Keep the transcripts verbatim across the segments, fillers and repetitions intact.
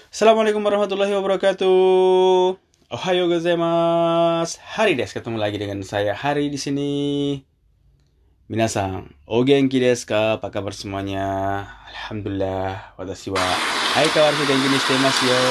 Assalamualaikum warahmatullahi wabarakatuh. Ohayo gozaimasu. Hari des, ketemu lagi dengan saya Hari di sini. Minasan, o genki desu ka? Apa kabar semuanya? Alhamdulillah, watashi wa aikawaru genki ni shite imasu yo.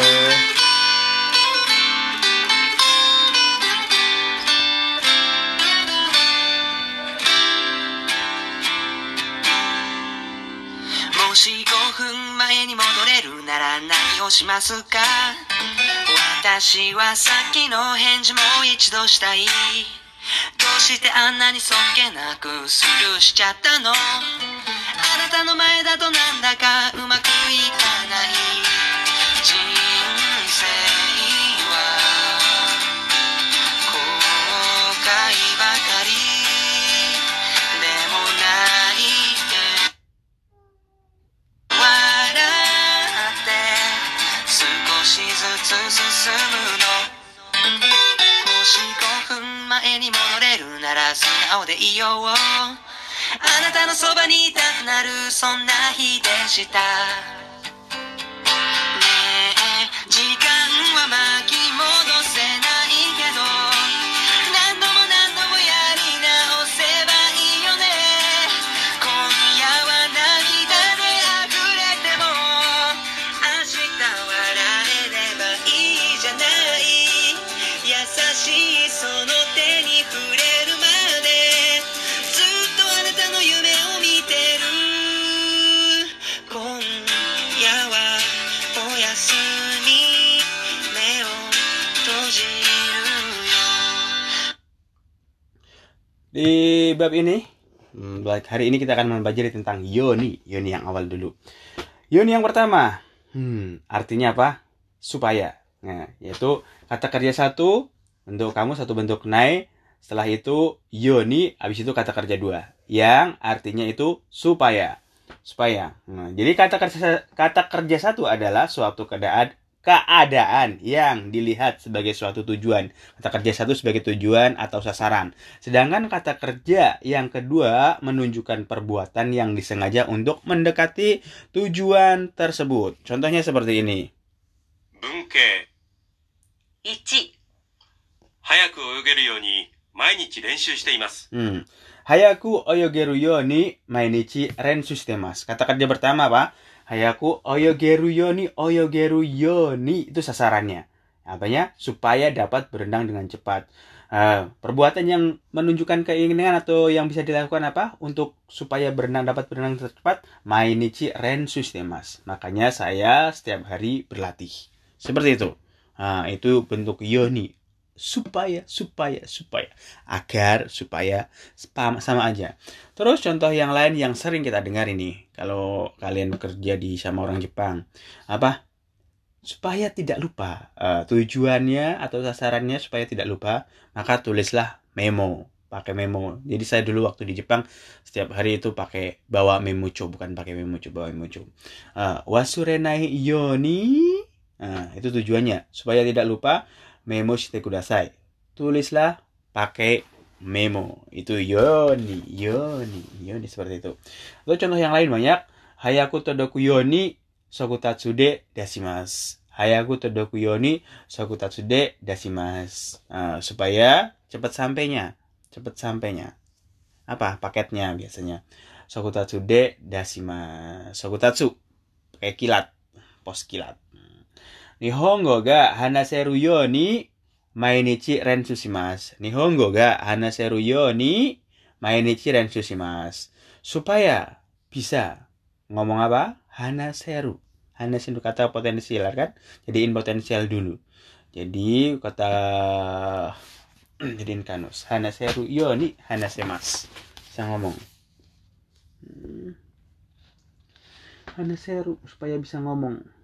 Moshiごふんまえに戻れるなら何をしますか？私はさっきの返事もう一度したい。どうしてあんなにそっけなくスルーしちゃったの？あなたの前だとなんだかうまくいかない。人生は後悔ばかりでもないで笑って少しずつ進むの。もしごふんまえに戻れるなら素直でいよう。あなたのそばにいたくなるそんな日でした。ねえ時間は巻き戻せないけど何度も何度もやり直せばいいよね。今夜は涙で溢れても明日笑えればいいじゃない。優しいその手に触れるまでずっとあなたの夢を見てる。今夜はおやすみ目を閉じるよ。Di bab ini, hmm, hari ini kita akan mempelajari tentang yoni. Yoni yang awal dulu. Yoni yang pertama, hmm, artinya apa? Supaya. Nah, yaitu kata kerja satu untuk kamu, satu bentuk nai. Setelah itu yoni, habis itu kata kerja dua yang artinya itu supaya. Supaya. Nah, jadi kata kerja kata kerja satu adalah suatu keadaan keadaan yang dilihat sebagai suatu tujuan. Kata kerja satu sebagai tujuan atau sasaran. Sedangkan kata kerja yang kedua menunjukkan perbuatan yang disengaja untuk mendekati tujuan tersebut. Contohnya seperti ini. Bunke ichi 早く泳げるように毎日練習しています。 Hmm. Hayaku oyogeru yoni mainichi rensu shitemasu. Kata kerja pertama apa? Hayaku oyogeru yoni, oyogeru yoni itu sasarannya. Apanya? Supaya dapat berenang dengan cepat. Uh, perbuatan yang menunjukkan keinginan atau yang bisa dilakukan apa? Untuk supaya berenang dapat berenang cepat, mainichi rensu shitemasu. Makanya saya setiap hari berlatih. Seperti itu. Nah, itu bentuk yoni. Supaya, supaya, supaya. Agar, supaya, sama aja. Terus contoh yang lain yang sering kita dengar ini. Kalau kalian bekerja di sama orang Jepang. Apa? Supaya tidak lupa. Uh, tujuannya atau sasarannya supaya tidak lupa. Maka tulislah memo. Pakai memo. Jadi saya dulu waktu di Jepang. Setiap hari itu pakai bawa memocho. Bukan pakai memocho, bawa memocho. Uh, wasurenai yoni. Nah, itu tujuannya. Supaya tidak lupa. Memo shite kudasai. Tulislah pakai memo. Itu yoni, yoni, yoni seperti itu. Atau contoh yang lain banyak. Hayaku todoku yoni sokutatsu de dasimasu. Hayaku todoku yoni sokutatsu de dasimasu. Nah, supaya cepat sampainya, cepat sampainya. Apa paketnya biasanya? Sokutatsu de dasimasu. Sokutatsu pakai kilat, pos kilat. Nihongo ga hanaseru yo ni mainichi rensu shimasu. Nihongo ga hanaseru yo ni mainichi rensu shimasu. Supaya bisa ngomong apa? Hanaseru. Hanaseru kata potensial kan? Jadiin potensial dulu. Jadi kata jadiin kanus. Hanaseru yo ni hanasemasu. Bisa ngomong. Hmm. Hanaseru supaya bisa ngomong.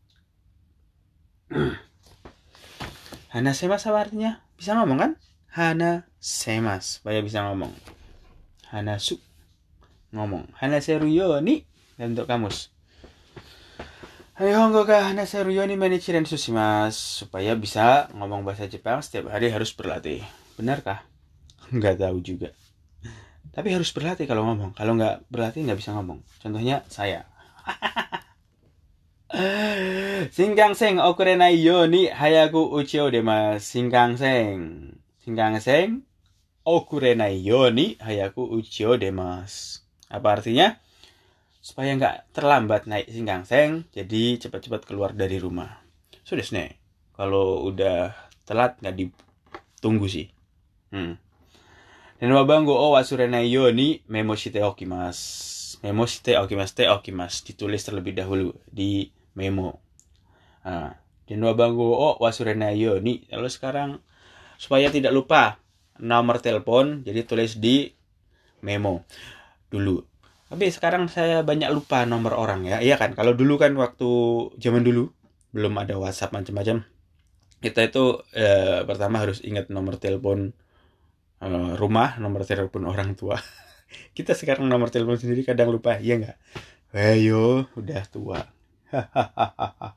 Hanasemas apa artinya? Bisa ngomong kan? Hanasemas supaya bisa ngomong. Hanasu ngomong. Hanaseru yo ni untuk kamus. Nihongo ga hanaseru yo ni mainichi rensu shimasu. Supaya bisa ngomong bahasa Jepang setiap hari harus berlatih. Benarkah? Enggak tahu juga. Tapi harus berlatih kalau ngomong. Kalau nggak berlatih nggak bisa ngomong. Contohnya saya. Shinkansen okurenai yo ni hayaku uchi o demasu. Shinkansen. Shinkansen okurenai yo ni hayaku uchi o demasu. Apa artinya? Supaya nggak terlambat naik Shinkansen, jadi cepat-cepat keluar dari rumah. So desu ne. Kalau udah telat nggak ditunggu sih. Hmm. Den wa bango o wasurenai yo ni memo shite okimasu. Memo shite okimasu te okimasu. Ditulis terlebih dahulu di memo. Nah, den wa bango o wasurenai yo ni. Lalu sekarang supaya tidak lupa nomor telepon, jadi tulis di memo dulu. Tapi sekarang saya banyak lupa nomor orang ya. Iya kan? Kalau dulu kan waktu zaman dulu belum ada WhatsApp macam-macam. Kita itu eh, pertama harus ingat nomor telepon eh, rumah, nomor telepon orang tua. Kita sekarang nomor telepon sendiri kadang lupa, iya nggak? Ayo, udah tua. Hahaha.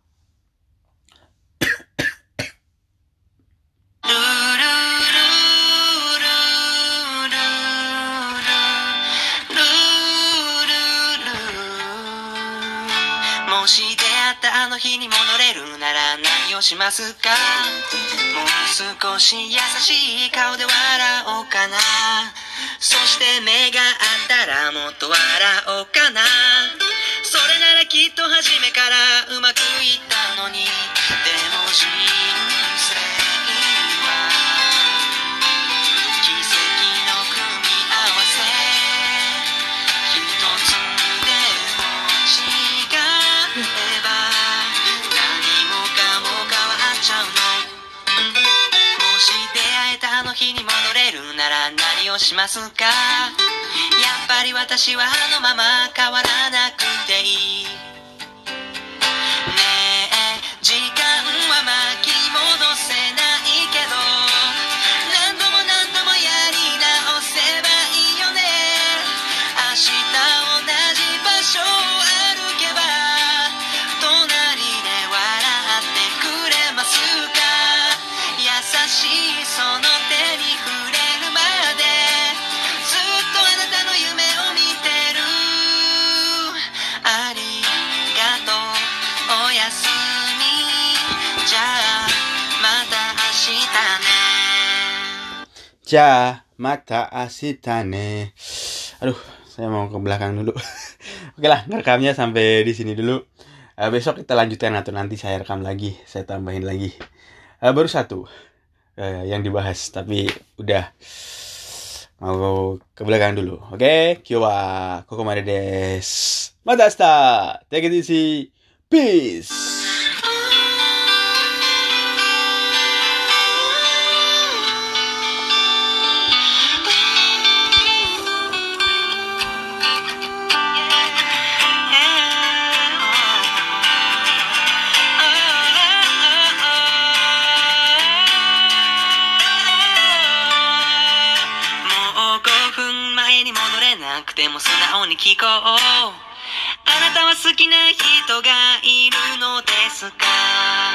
もし出会ったあの日に戻れるなら何をしますか。もう少し優しい顔で笑おうかな。そして目が合ったらもっと笑おうかな。それならきっと初めからうまくいったのに。でも人生は奇跡の組み合わせ。一つでも違えば何もかも変わっちゃうの。もし出会えたあの日に戻れるなら何をしますか。やっぱり私はあのまま変わらなくていい。ねえ時間は巻き戻せないけど何度も何度もやり直せばいいよね。明日同じ場所を歩けば隣で笑ってくれますか。優しいその手に触れるまでずっとあなたの夢を見てる。ありがとうおやすみ。じゃあまた明日ね。 Ja, mata asitane. Aduh, saya mau ke belakang dulu. Oke lah, ngerekamnya sampai di sini dulu. Uh, besok kita lanjutkan atau nanti saya rekam lagi, saya tambahin lagi. Uh, baru satu uh, yang dibahas, tapi udah mau ke belakang dulu. Oke, kyo wa kokomade desu. Mata ashita. Take it easy. Peace. もうごふんまえに戻れなくても素直に聞こう。あなたは好きな人がいるのですか。